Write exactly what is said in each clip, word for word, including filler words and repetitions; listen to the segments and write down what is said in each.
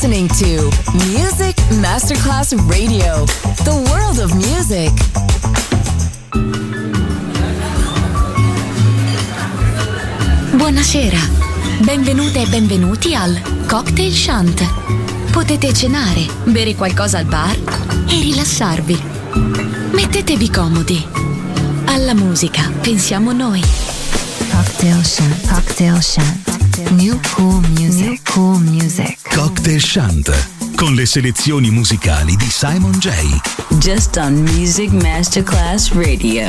listening to Music Masterclass Radio, the world of music. Buonasera, benvenute e benvenuti al Cocktail Shant. Potete cenare, bere qualcosa al bar e rilassarvi. Mettetevi comodi. Alla musica pensiamo noi. Cocktail Shant, Cocktail Shant. New cool music, New cool music. Cocktail Shant, con le selezioni musicali di Simon J. Just on Music Masterclass Radio.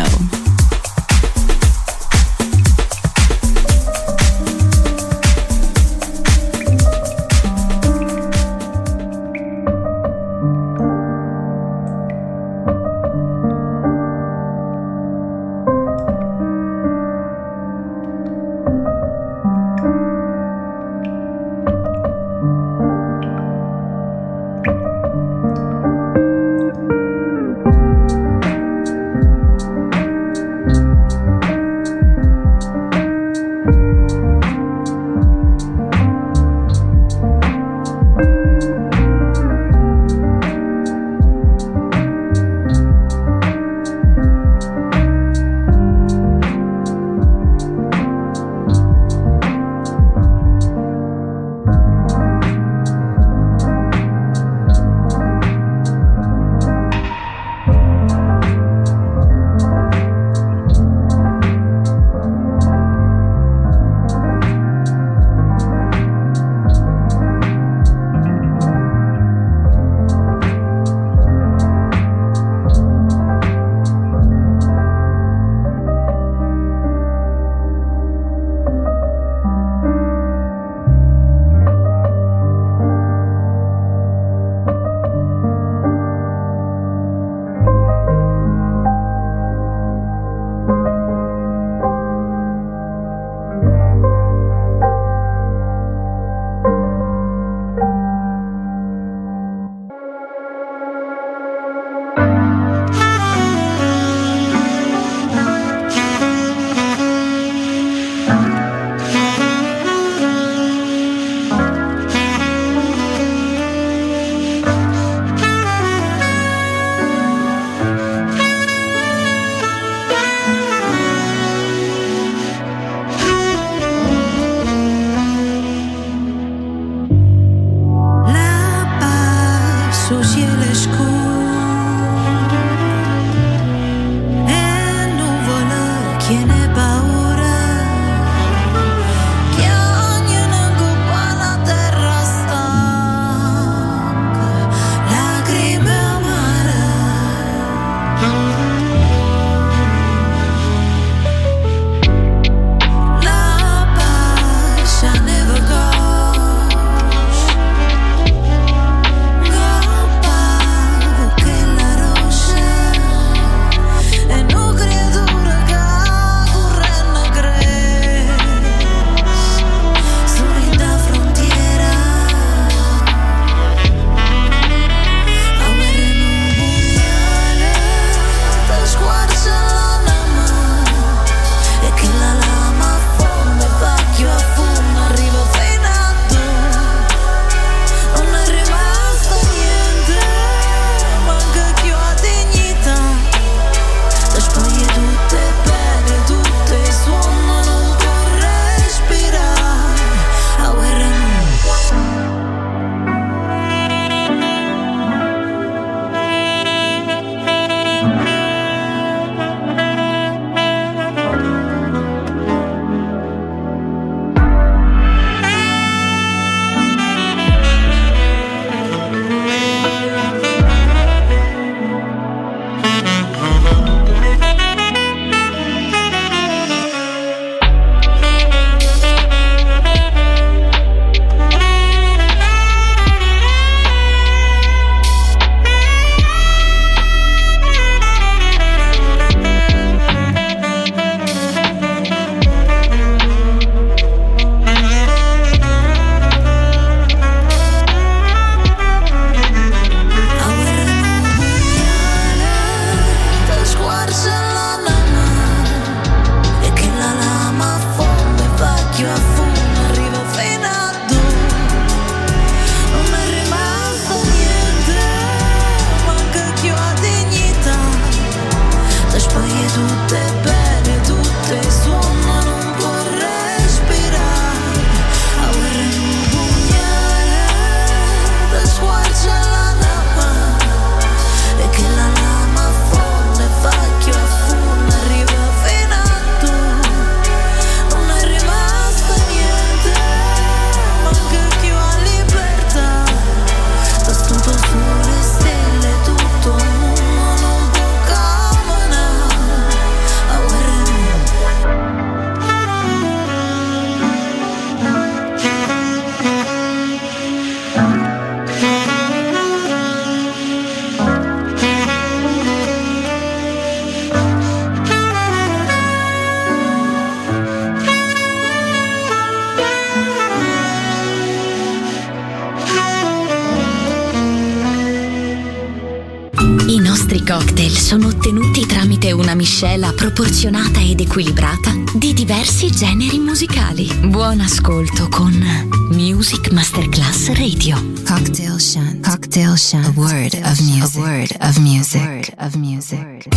cocktail sono ottenuti tramite una miscela proporzionata ed equilibrata di diversi generi musicali. Buon ascolto con Music Masterclass Radio. Cocktail Shant. Cocktail Shant. A word of music. A word of music. A word of music.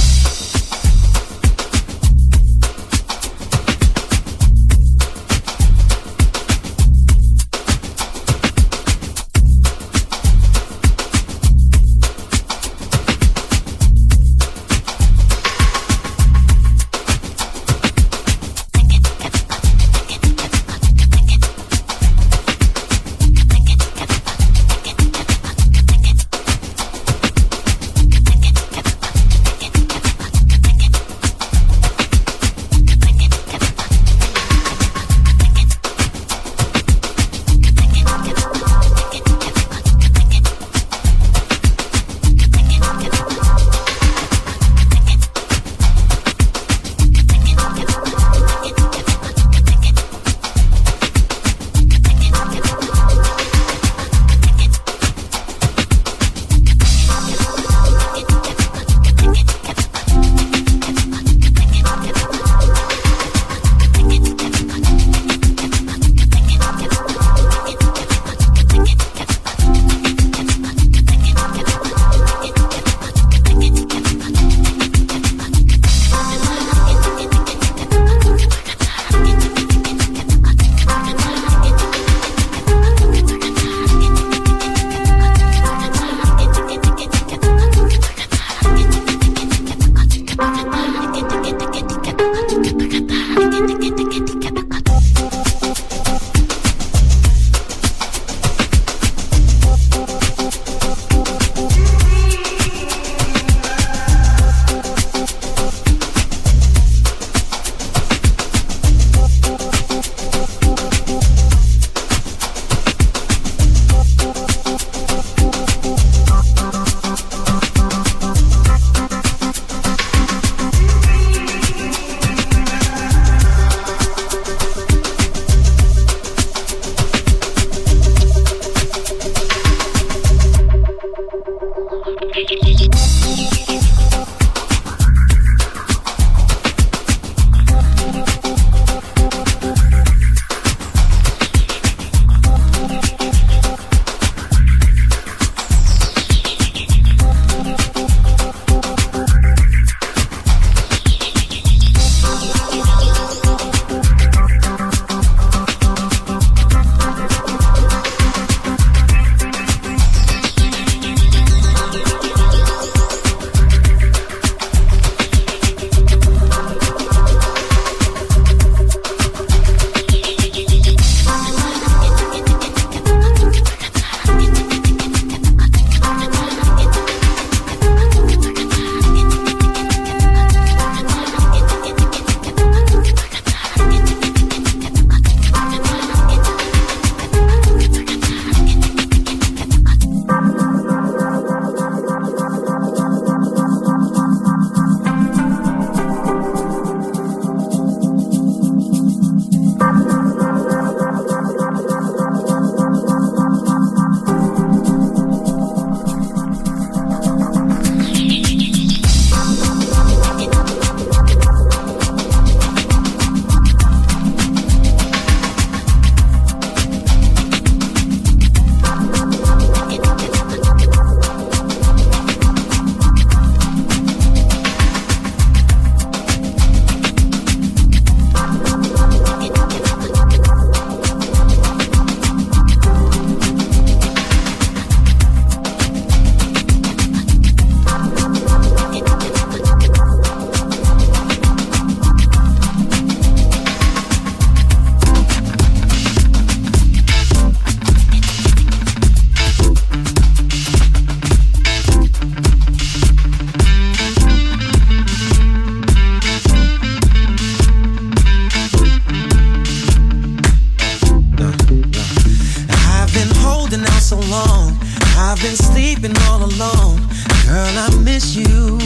I've been sleeping all alone. Girl, I miss you.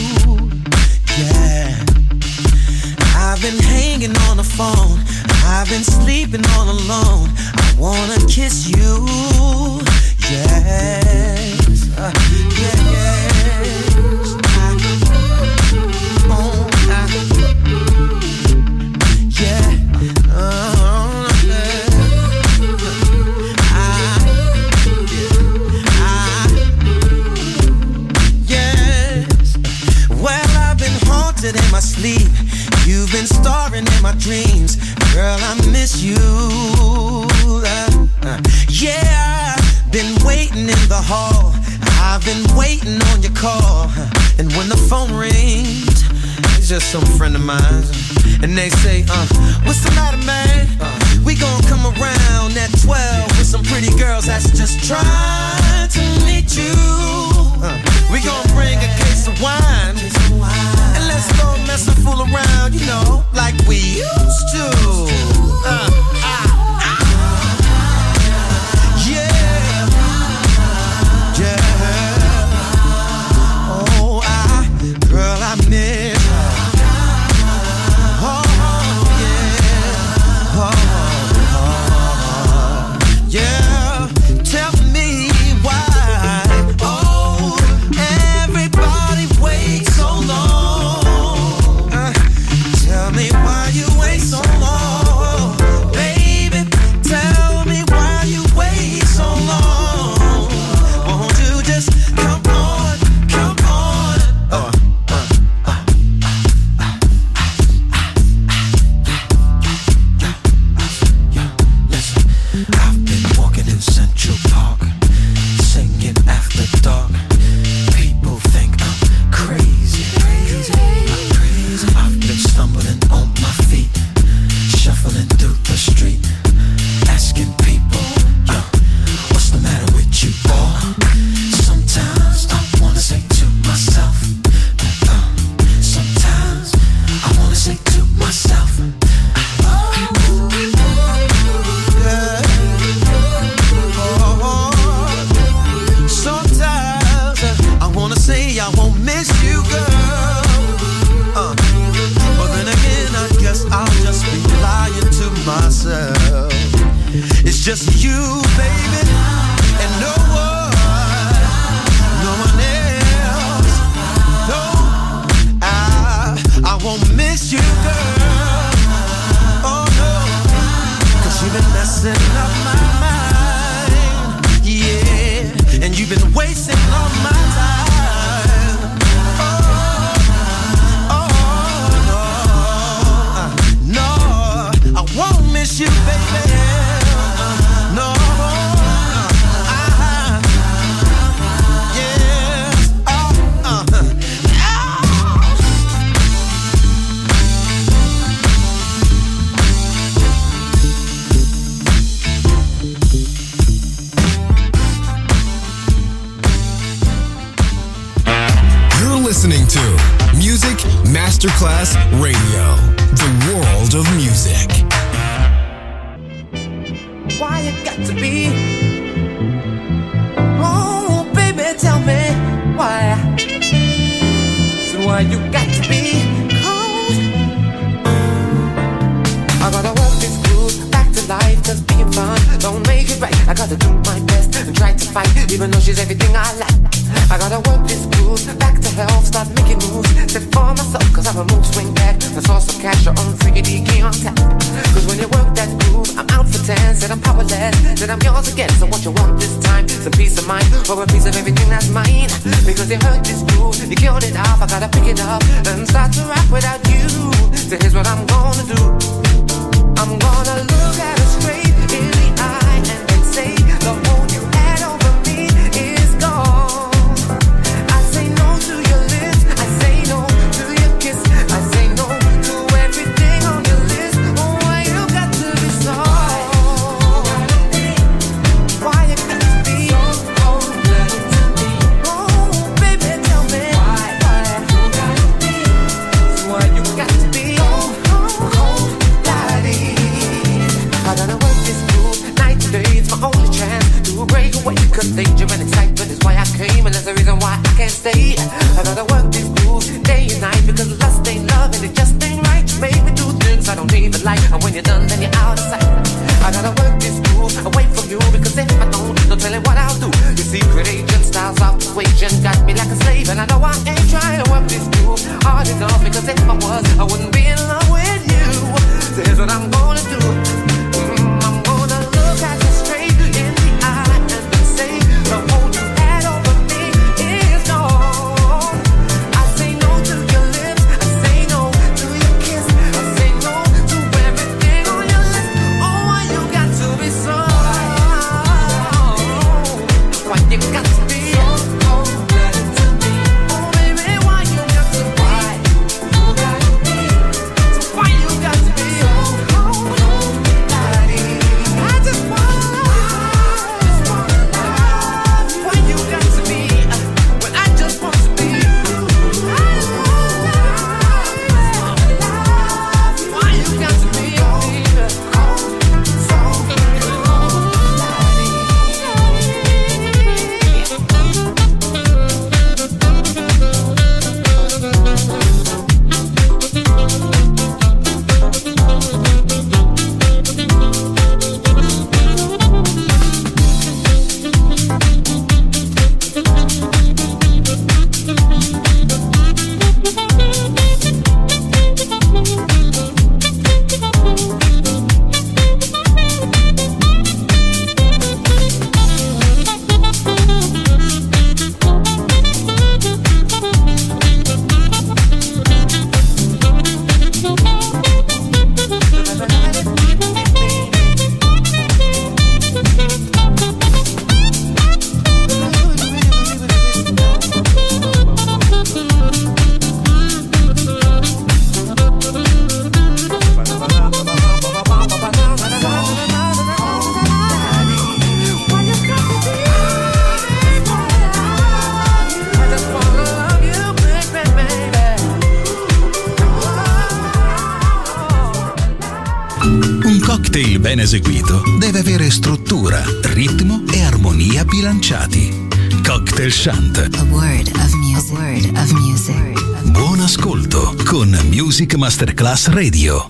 Yeah. I've been hanging on the phone. I've been sleeping all alone. I wanna kiss you. Yes. Uh, yeah, yes. I dreams. Girl, I miss you. Uh, uh, yeah, I've been waiting in the hall. I've been waiting on your call. And when the phone rings, it's just some friend of mine. And they say, uh, what's the matter, man? Uh, we gon' come around at twelve with some pretty girls that's just trying to meet you. Uh, we gon' bring a case of wine. And let's go mess and fool around, you know, like we used to. Uh, uh, yeah. Yeah. Oh, I, girl, I miss. Yeah, tell me why. Oh, everybody waits so long. Uh, tell me why you wait so long, baby. Tell me why you wait so long. Won't you just come on, come on? Uh, uh, uh, uh, uh, uh, listen, I've been walking in Central Park, singing after dark. People think I'm crazy, crazy, I'm crazy. I've been stumbling on my feet, shuffling through the street, asking people, yo, what's the matter with you, boy? Sometimes I wanna say to myself, uh, sometimes I wanna say to myself, oh, yeah. Sometimes uh, I wanna say I won't miss you, girl. Uh, but then again, I guess I'll just be lying to myself. It's just you, baby, and no one, no one else. No, I, I won't miss you, girl. Oh no, 'cause you've been messing up my mind. Yeah, and you've been wasting all my time. Oh, oh, no, uh, no, I won't miss you, baby. Uh, no, uh, I, yes, oh, uh, oh. You're listening to Music Masterclass Radio, the world of music. Why you got to be? Oh, baby, tell me why. So why you got to be cold? I gotta work this groove back to life, 'cause being fun don't make it right. I gotta do my best and try to fight, even though she's everything I like. I gotta work this groove back to health, start making moves, set for myself, 'cause I'm a mood swing back. The source of cash on freaky key on tap. 'Cause when you work that groove, I'm out for ten, said I'm powerless, said I'm yours again. So what you want this time? Some peace of mind, or a piece of everything that's mine. Because you heard this groove, you killed it off, I gotta pick it up and start to rap without you. So here's what I'm gonna do. I'm gonna look at her straight in the eye and then say, the hold you had over me is gone. I say no to your lips, I say no to your kiss, I say no to everything on your list. Oh, why you got to be so? Why you got to be so cold-blooded to me? Oh, baby, tell me why, why you got to be? Why you got to be so cold-blooded? I gotta work this groove night and day, it's my only chance to break away. 'Cause danger and excitement is why I came, and that's the reason why I can't stay. I gotta work this groove day and night, because lust ain't love and it just ain't right. You make me do things I don't even like, and when you're done, then you're out of sight. I gotta work this groove away from you, because if I don't, no telling what I'll do. Your secret agent styles of persuasion got me like a slave, and I know I ain't trying to work this groove hard enough, because if I was, I wouldn't be in love with you. So here's what I'm gonna do. Mm, I'm gonna look at you straight in the eye and then say, the hold you had over me is gone. I say no to your lips, I say no to your kiss, I say no to ben eseguito, deve avere struttura, ritmo e armonia bilanciati. Cocktail Chant. A word of music. A word of music. Buon ascolto con Music Masterclass Radio.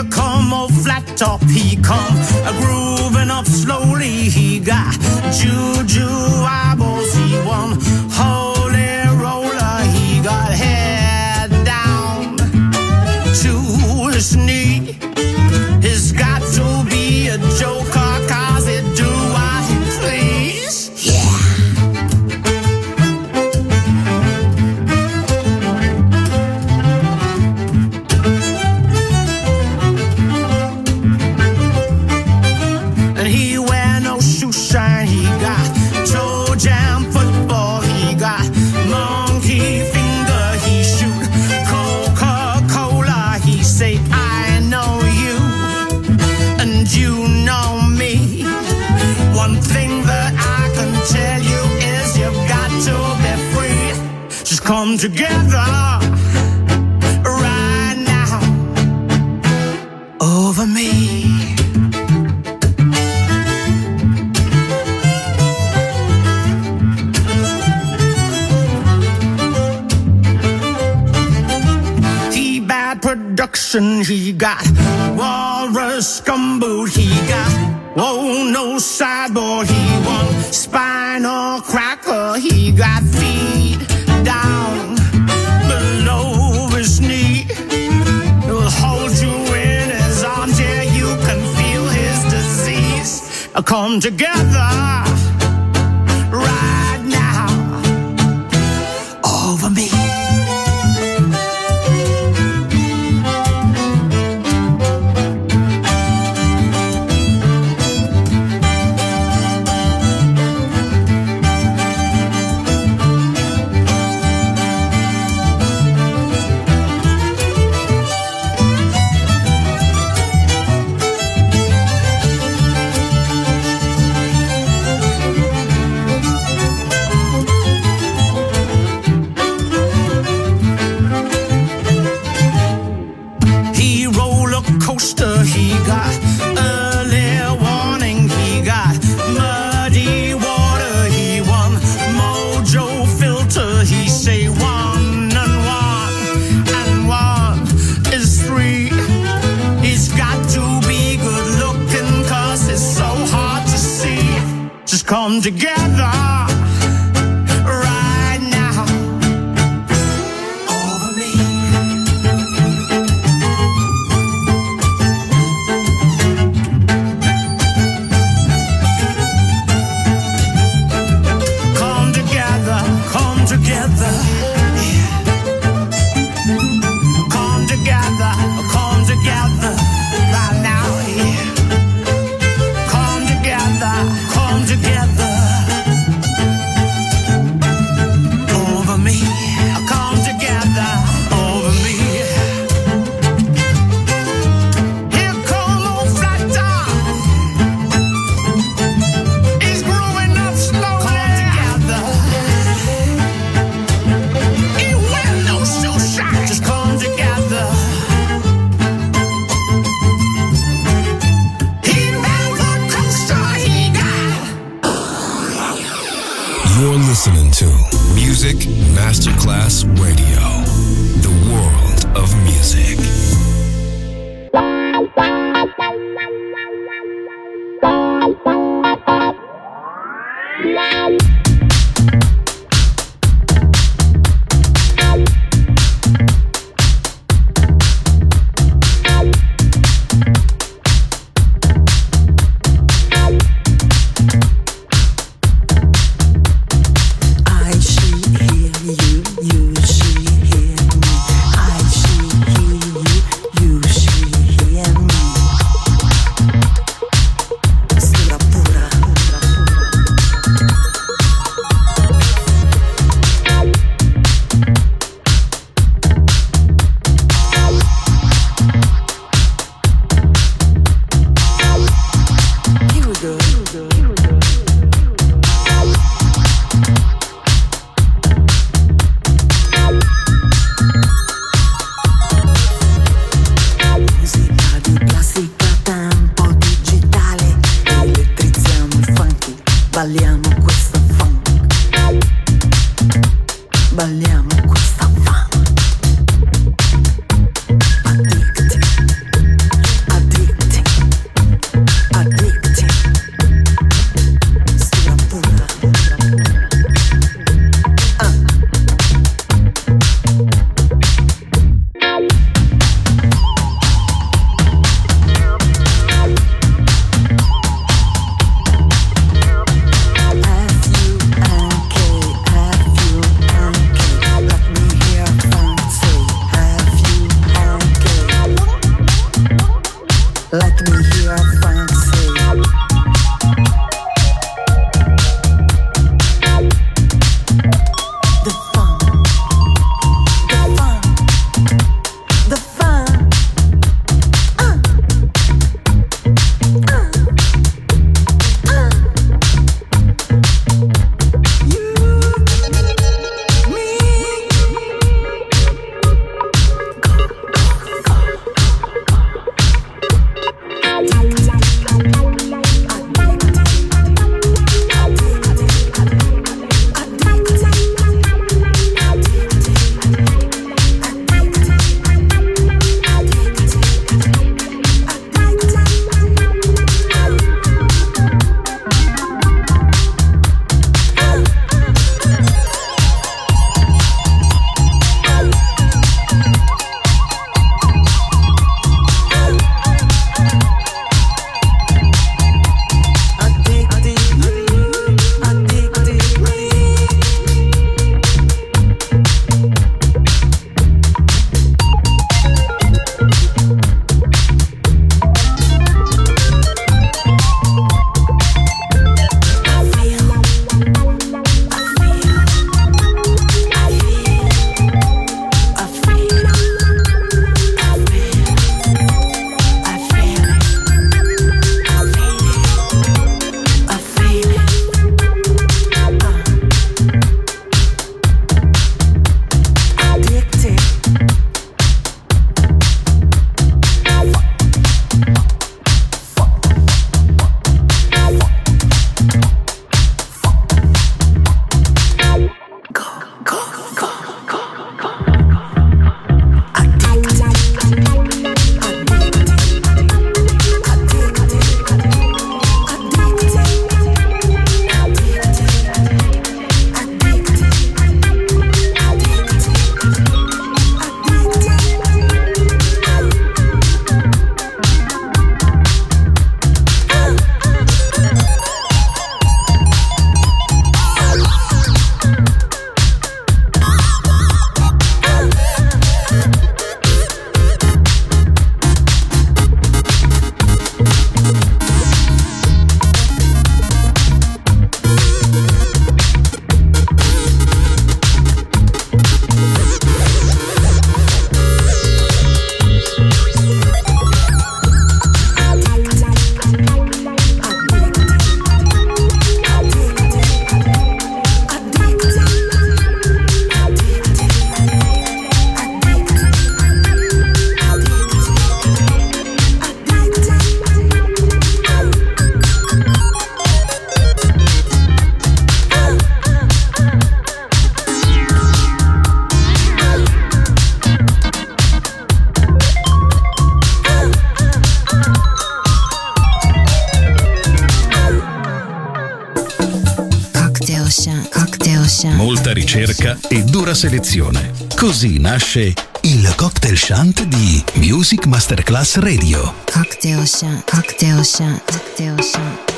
come old flat top, he come a grooving up slowly. He got juju eyeballs, he won holy roller. He got head down to his knee. He's got to be a joker, cause he do what he please. Yeah. And he wear no shoe shine. He got toe jam football. He got monkey finger. He shoot Coca-Cola. He say, I know you and you know me. One thing that I can tell you is you've got to be free. Just come together right now over me. T-Bad Production, he got Walrus Gumboot, he got whoa no sideboard, he won Spinal Cracker, he got feet down below his knee. He'll hold you in his arms, yeah, you can feel his disease. Come together right now over me. He got early warning, he got muddy water, he won mojo filter, he say one and one and one is three. He's got to be good looking cause it's so hard to see. Just come together right now over me. Together, yeah. Come together, come together right now, yeah. Come together, come together over me. Come together over me. Here come old flat top. He's growing up slowly. Come together. Just come together. He made the coaster he got. You're listening to Music Masterclass Radio, the world of music. You, you, she, hear me. I, she, he, you. Molta ricerca e dura selezione. Così nasce il Cocktail Shant di Music Masterclass Radio. Cocktail Shant, Cocktail Shant, Cocktail Shant.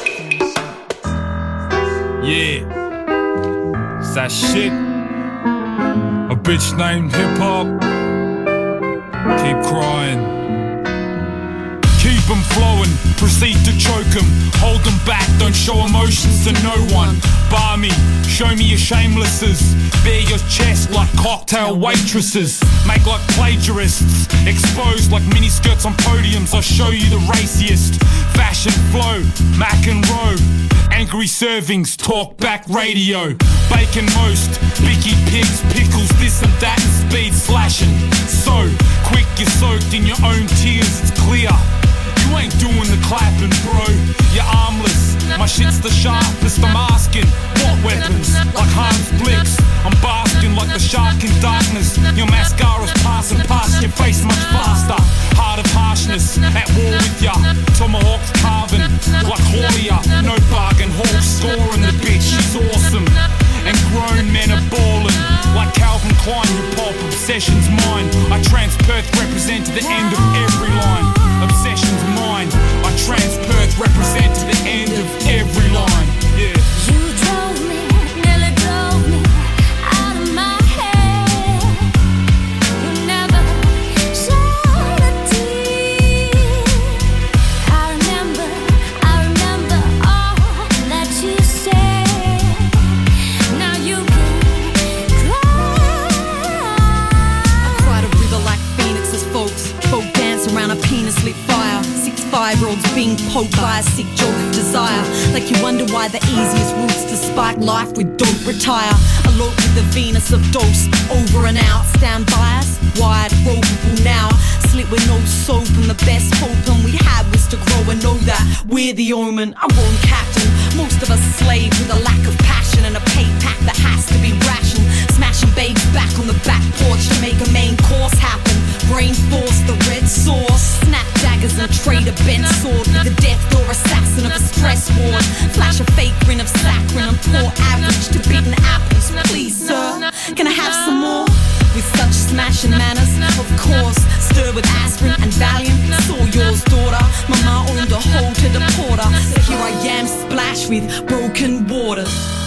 Yeah, it's that shit. A bitch named hip hop. Keep crying. Keep them flowing, proceed to choke them. Hold them back, don't show emotions to no one. Bar me, show me your shamelesses. Bare your chest like cocktail waitresses. Make like plagiarists, exposed like miniskirts on podiums. I'll show you the raciest. Fashion flow, Mac and Rowe. Angry servings, talk back radio. Bacon most, Bicky pigs, pickles, this and that, and speed slashing. So quick you're soaked in your own tears, it's clear. You ain't doing the clapping, bro. You're armless. My shit's the sharpest. I'm asking, what weapons? Like Hans Blix. I'm basking like the shark in darkness. Your mascara's passing past your face much faster. Heart of harshness, at war with ya. Tomahawks carving like Hoya. No bargain, Hawk scoring the bitch. She's awesome. And grown men are ballin' like Calvin Klein. Your pop obsession's mine. I trans Perth represent to the end of every line. Obsession's mine. I trans Perth represent to the end of every line. Yeah. You drove me, nearly drove me out of my head. You never shed a tear. being poked by a sick joke of desire. Like you wonder why the easiest routes to spike life with don't retire. Elope with the Venus of dose, over and out. Stand bias, wide, ropeable now. Slit with no soap and the best hope and we had was to grow and know that we're the omen. I won't captain, most of us slaves with a lack of passion and a pay pack that has to be rationed. Smashing babes back on the back porch to make a main course happen. Brain force, the red sauce. Snap daggers and trade a bent sword with the death door assassin of a stress ward. Flash a fake grin of saccharine and pour average to beaten apples. Please, sir, can I have some more? With such smashing manners, of course. Stir with aspirin and Valium. Saw yours, daughter. Mama owned a hole to the porter. So here I am, splashed with broken waters.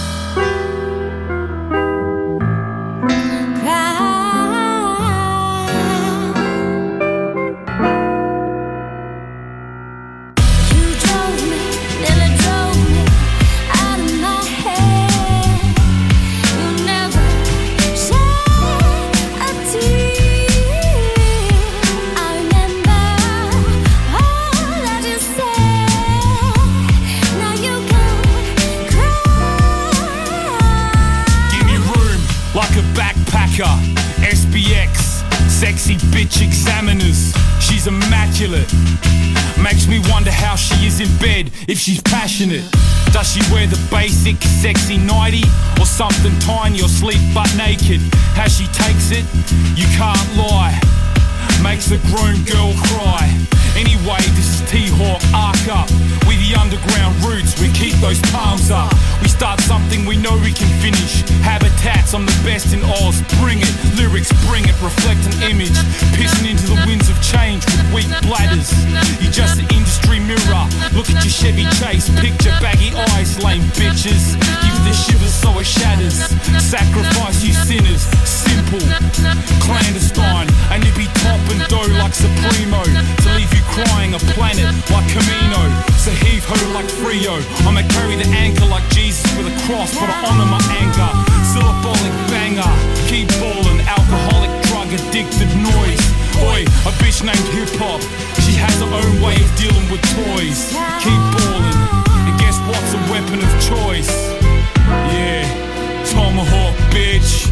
S B X, sexy bitch examiners. She's immaculate. Makes me wonder how she is in bed if she's passionate. Does she wear the basic sexy nightie or something tiny or sleep butt naked? How she takes it, you can't lie. Makes a grown girl cry. Anyway, this is T-Hawk, arc up. We the underground roots, we keep those palms up. We start something we know we can finish. Habitats, I'm the best in Oz. Bring it, lyrics, bring it, reflect an image. Pissing into the winds of change with weak bladders. You're just an industry mirror. Look at your Chevy Chase, picture baggy eyes, lame bitches. Give the shivers so it shatters. Sacrifice you sinners, simple, clandestine. And you be top and dough like Supremo. To leave you crying a planet like Camino. So heave ho like Frio. I'ma carry the anchor like Jesus with a cross, but I honor my anger. Syllabolic banger, keep ballin', alcoholic, drug addicted noise. Oi, a bitch named hip hop. She has her own way of dealing with toys. Keep ballin', and guess what's a weapon of choice? Yeah, tomahawk, bitch.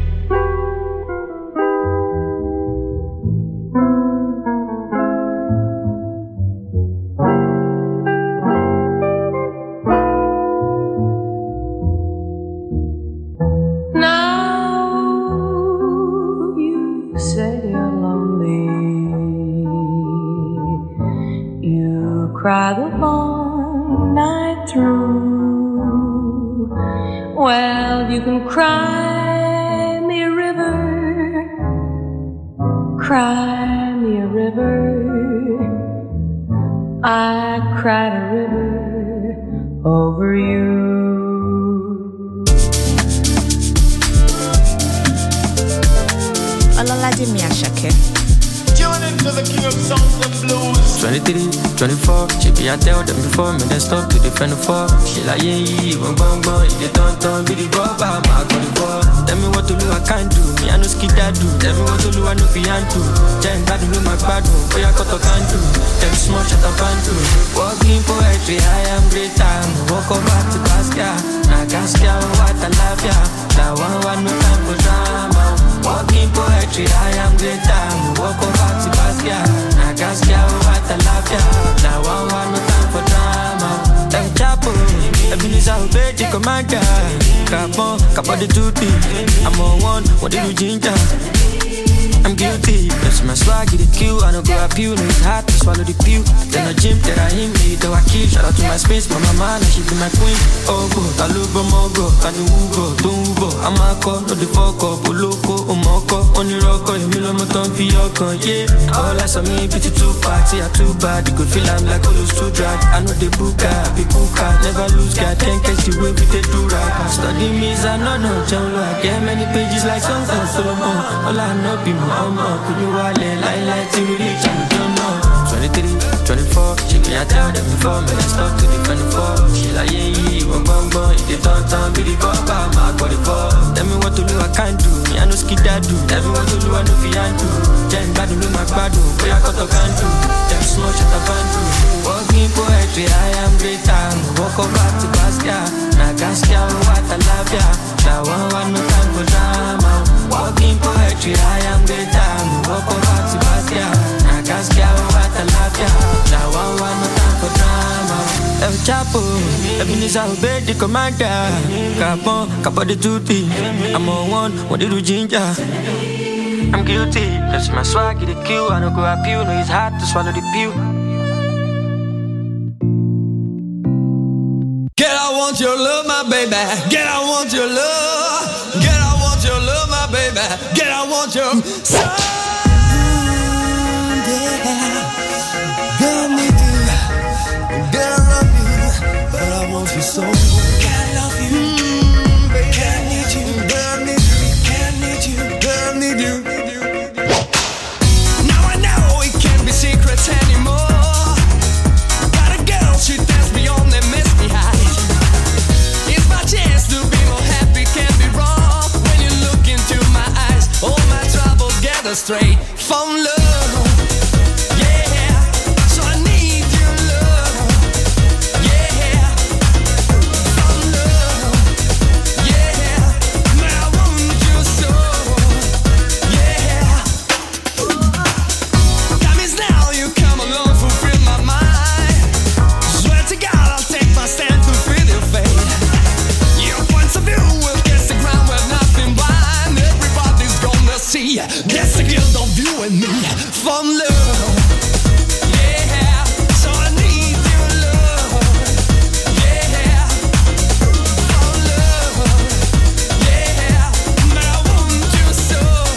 Cry the long night through. Well, you can cry me a river, cry me a river. I cried a river over you. Olalaje Miyashake. Tune into the king of songs and blues. twenty-three, twenty-four, she be I tell them before me, then stop to defend the four. She like, yeah, yeah, bang, bang, bang, if they don't turn, be the rubber, I'm out for the ball. Tell me what to do, I can't do, me I know skid that do. Tell me what to do, I know fian to. Jen, bad do my bad do, boy I cut a can do. Them small shut up and do. Walking poetry, I am great time. Walk over to Gaskia, na Gaskia, what I love ya. Now one, one, no time for drama. Walking poetry, I am great time. Walk over to Gaskia, na Gaskia, what I love ya. Now one, one, no time for drama. Them chapo, Ebenezer obey the commander. Capon, Capon the duty. I'm on one, what did you ginger? I'm guilty, that's my swag, get the kill. I don't go up you, no it's hard to swallow the pill. Then I gym, then I hit me, though I kill. Shout out to my space, my mama, now she be my queen. Oh go, Talubo Mogo, Kanu Ugo, Dumbo. I'm a call, no the fuck up, Uloko, Omoko. Only rocko, you mill on my tongue, Fioko, yeah. All I saw me, pity too party, I too bad. You could feel I'm like all those too drag. I know the booker, be booker, never lose, God can't catch the way we they do right. Study me, I know no, John I get many pages like songs and Solomon. All I know be more. I'm up, could you wallet, lie, lie, till we reach, I don't know. twenty-three, twenty-four, she be I tell them before, me let's stop to the twenty-four. She like, yeah, yeah, one bang, bang, if they don't turn, be the bumper, I'm out for the four. Tell me what to do, I can't do, me I know skid that do. Tell me what to do, I know fian do. Jen, bad do, my bad do, boy I cut a can do. Them small shut up and do. Walking walk over to Basquiat. Na Gaskia, what I love ya. That one want no time for drama. Walking poetry, I am greater. Walk over to Basquiat. Na Gaskia, what I love ya. That one want no time for drama. El Chapo, Ebenezer obey the commander. Capon, capo the duty. I'm on one, what did you ginger? I'm guilty, that's my swag, get the kill. I don't go up you, no it's hard to swallow the pill. Get I want your love, my baby. Get I want your love. Get I want your love, my baby. Get I want your soul. Girl, I need you. Girl, I love you. But I want you so. Girl, I love you. Mm, baby. Girl, I need you. Girl, I need you. Girl, I need you. Girl, I need you. Now I know it can't be secrets anymore. Got a girl, she tells me on the misty high. It's my chance to be more happy, can't be wrong. When you look into my eyes, all my troubles gather straight from love. That's the guilt of you and me from love. Yeah, so I need your love. Yeah, from love. Yeah, but I want you so.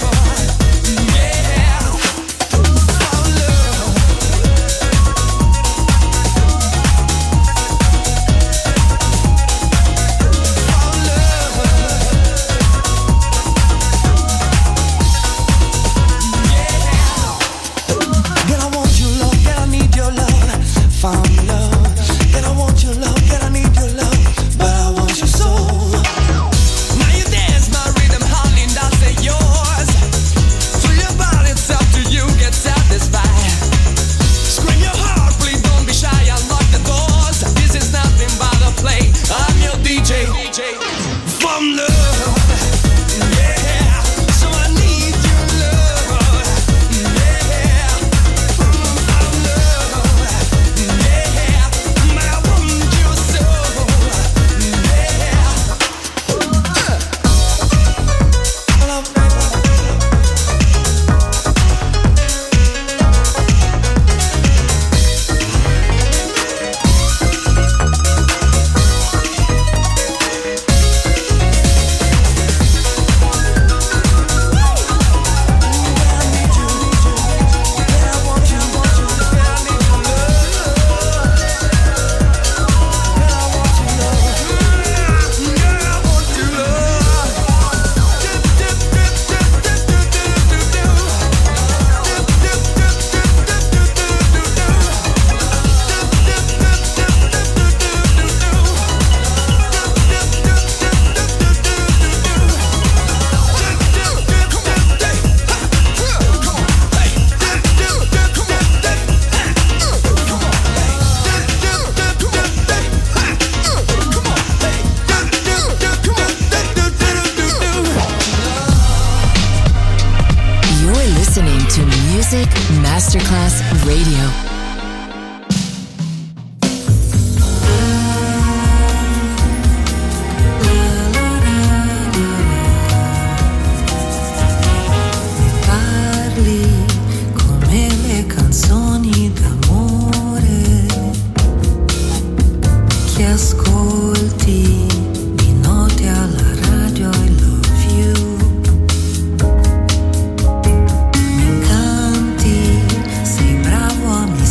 Yeah, from love. From love. Girl, I want your love, girl, I need your love. Found love. Girl, I want your love, girl, I need your love. But I want you so. Now you dance my rhythm, honey, and I'll say yours. Through your body, it's up to you, get satisfied. Scream your heart, please don't be shy, unlock the doors. This is nothing but a play. I'm your D J. From love. Yeah, so I need your love. Yeah. Music Masterclass Radio. Ascolti di notte alla radio, I love you. Mi incanti, sei bravo a me.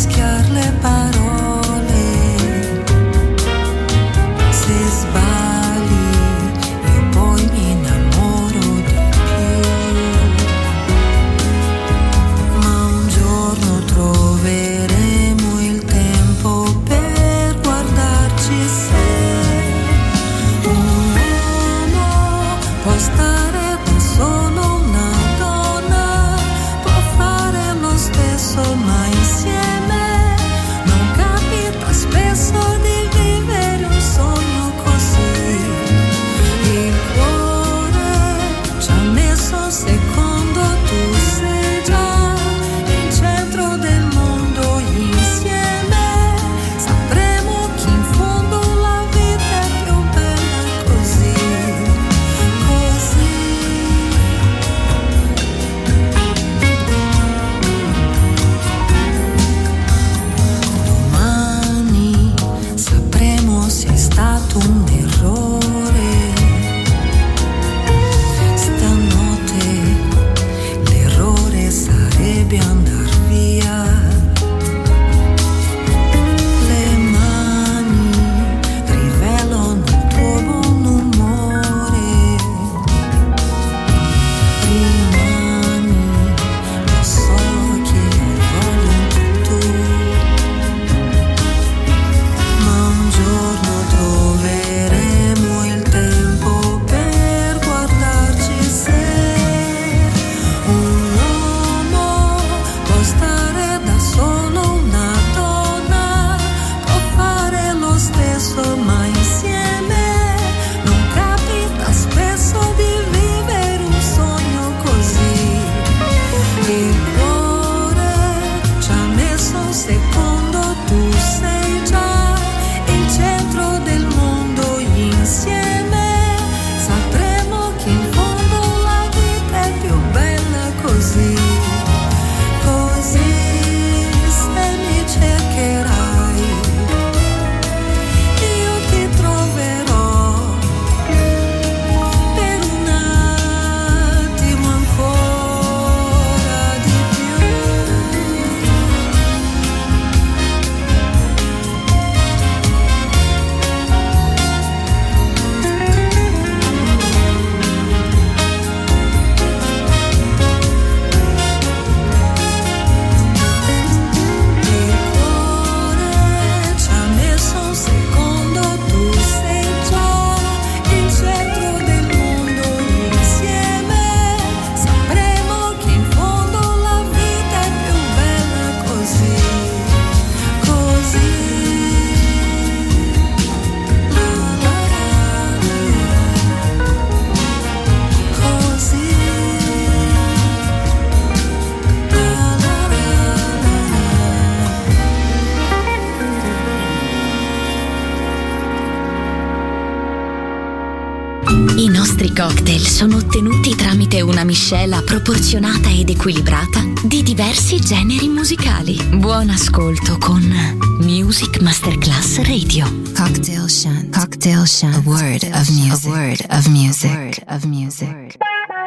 I nostri cocktail sono ottenuti tramite una miscela proporzionata ed equilibrata di diversi generi musicali. Buon ascolto con Music Masterclass Radio. Cocktail Shant. Cocktail Shant. A word of music. A word of music. A word of music.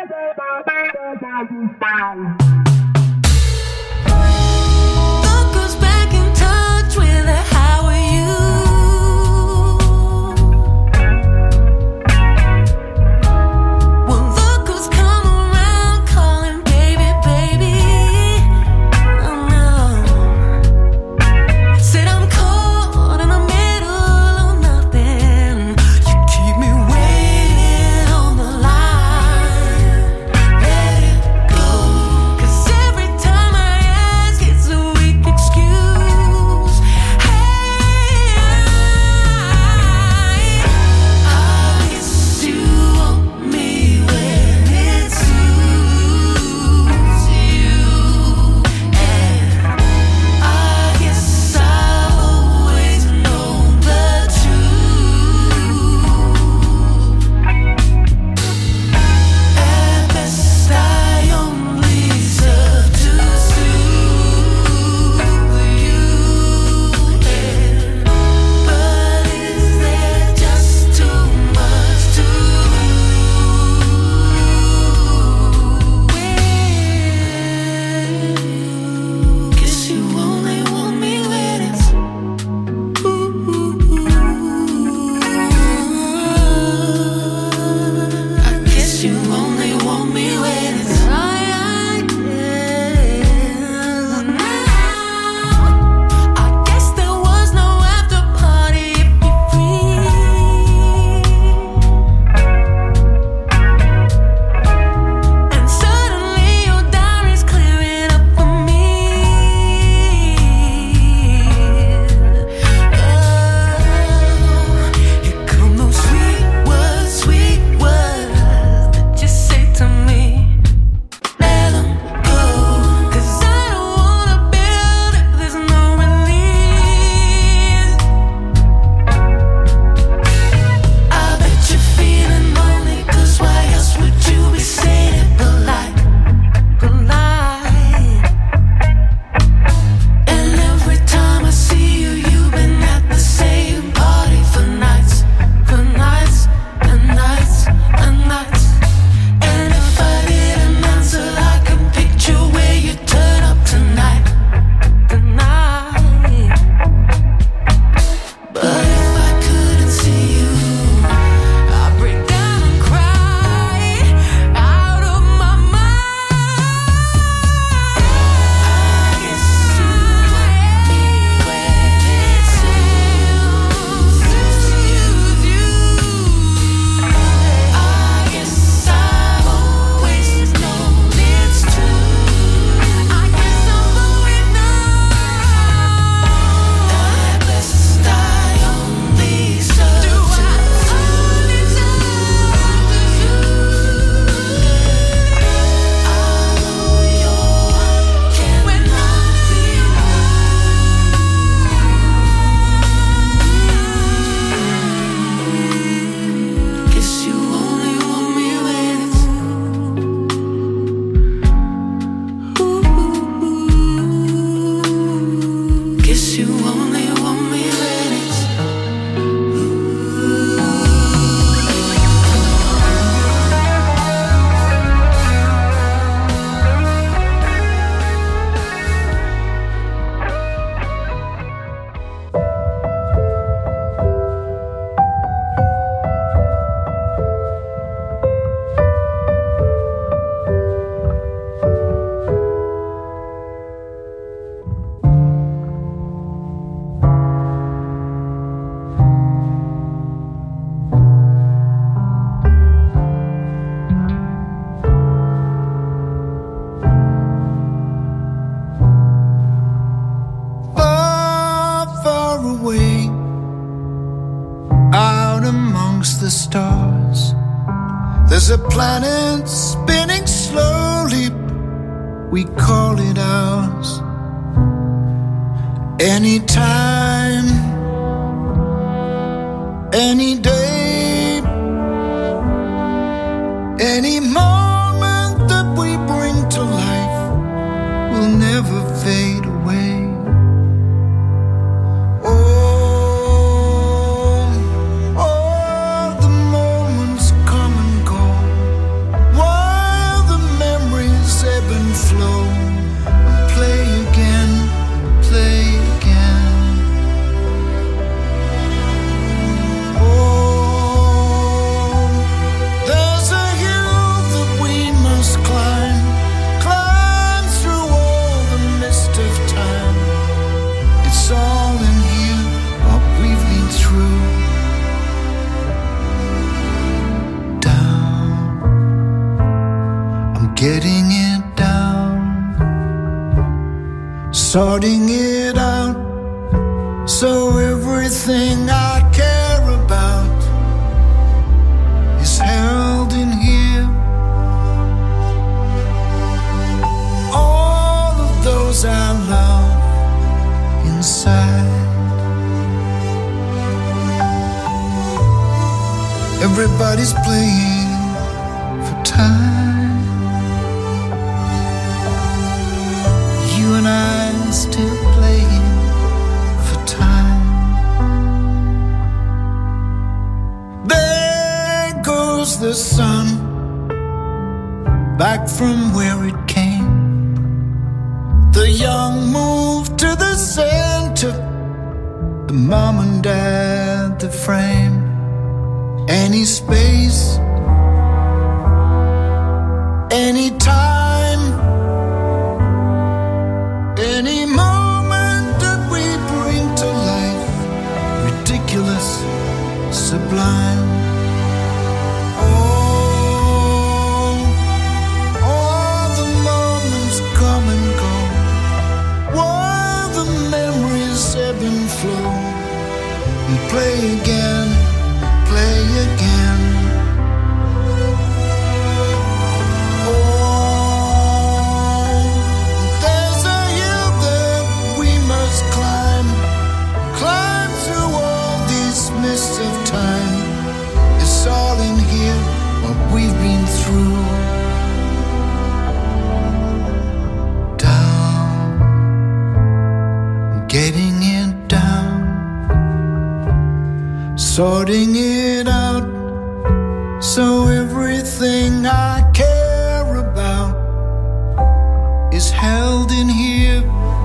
Look who's back in touch with her. How are you? the stars. There's a planet spinning slowly, we call it ours. Anytime, any day, sorting it out, so everything I care about is held in here. All of those I love inside. Everybody's playing for time. You and I still playing for time. There goes the sun, back from where it came. The young move to the center, the mom and dad, the frame. Any space, any time, any moment that we bring to life, ridiculous, sublime. Oh, all the moments come and go, while the memories ebb and flow. We play again, play again. Oh, there's a hill that we must climb, climb through all these mists of time. It's all in here, what we've been through. Down, getting it down, sorting it out, so everything I care about is held in here.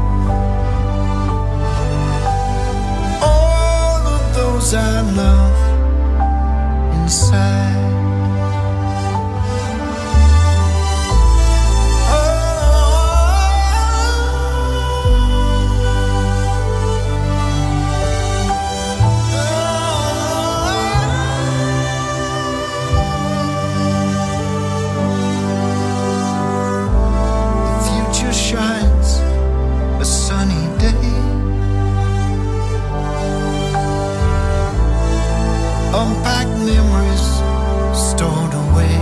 All of those I love inside. Unpack memories stored away.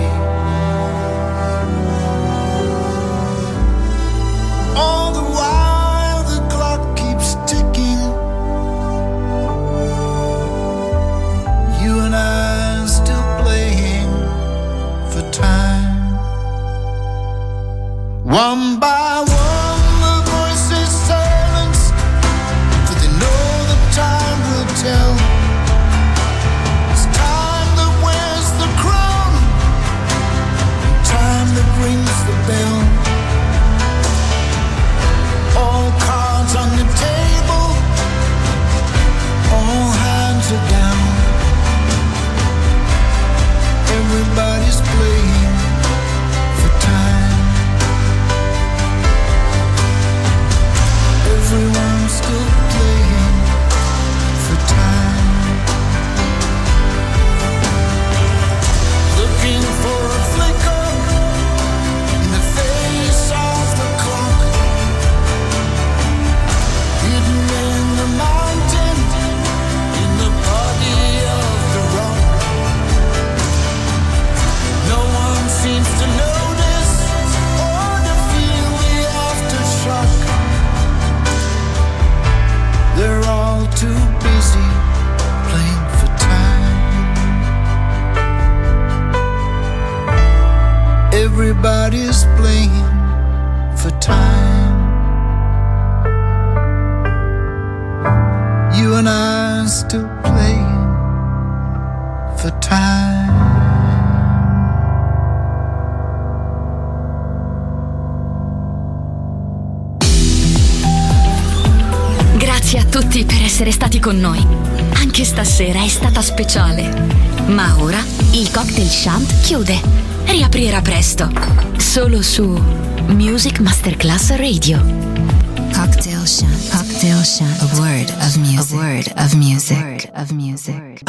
All the while the clock keeps ticking, you and I still playing for time. One by one the voices silence, for they know the time will tell. Rings the bell. All cards on the table, all hands are down. Everybody's playing for time. Everyone's still playing for time. Looking for a flicker seems to notice or to feel the aftershock. They're all too busy playing for time. Everybody's playing for time. You and I are still playing for time. Grazie a tutti per essere stati con noi. Anche stasera è stata speciale. Ma ora il Cocktail Shant chiude. Riaprirà presto. Solo su Music Masterclass Radio. Cocktail Shant. Cocktail Shant. A word of music. A word of music. A word of music.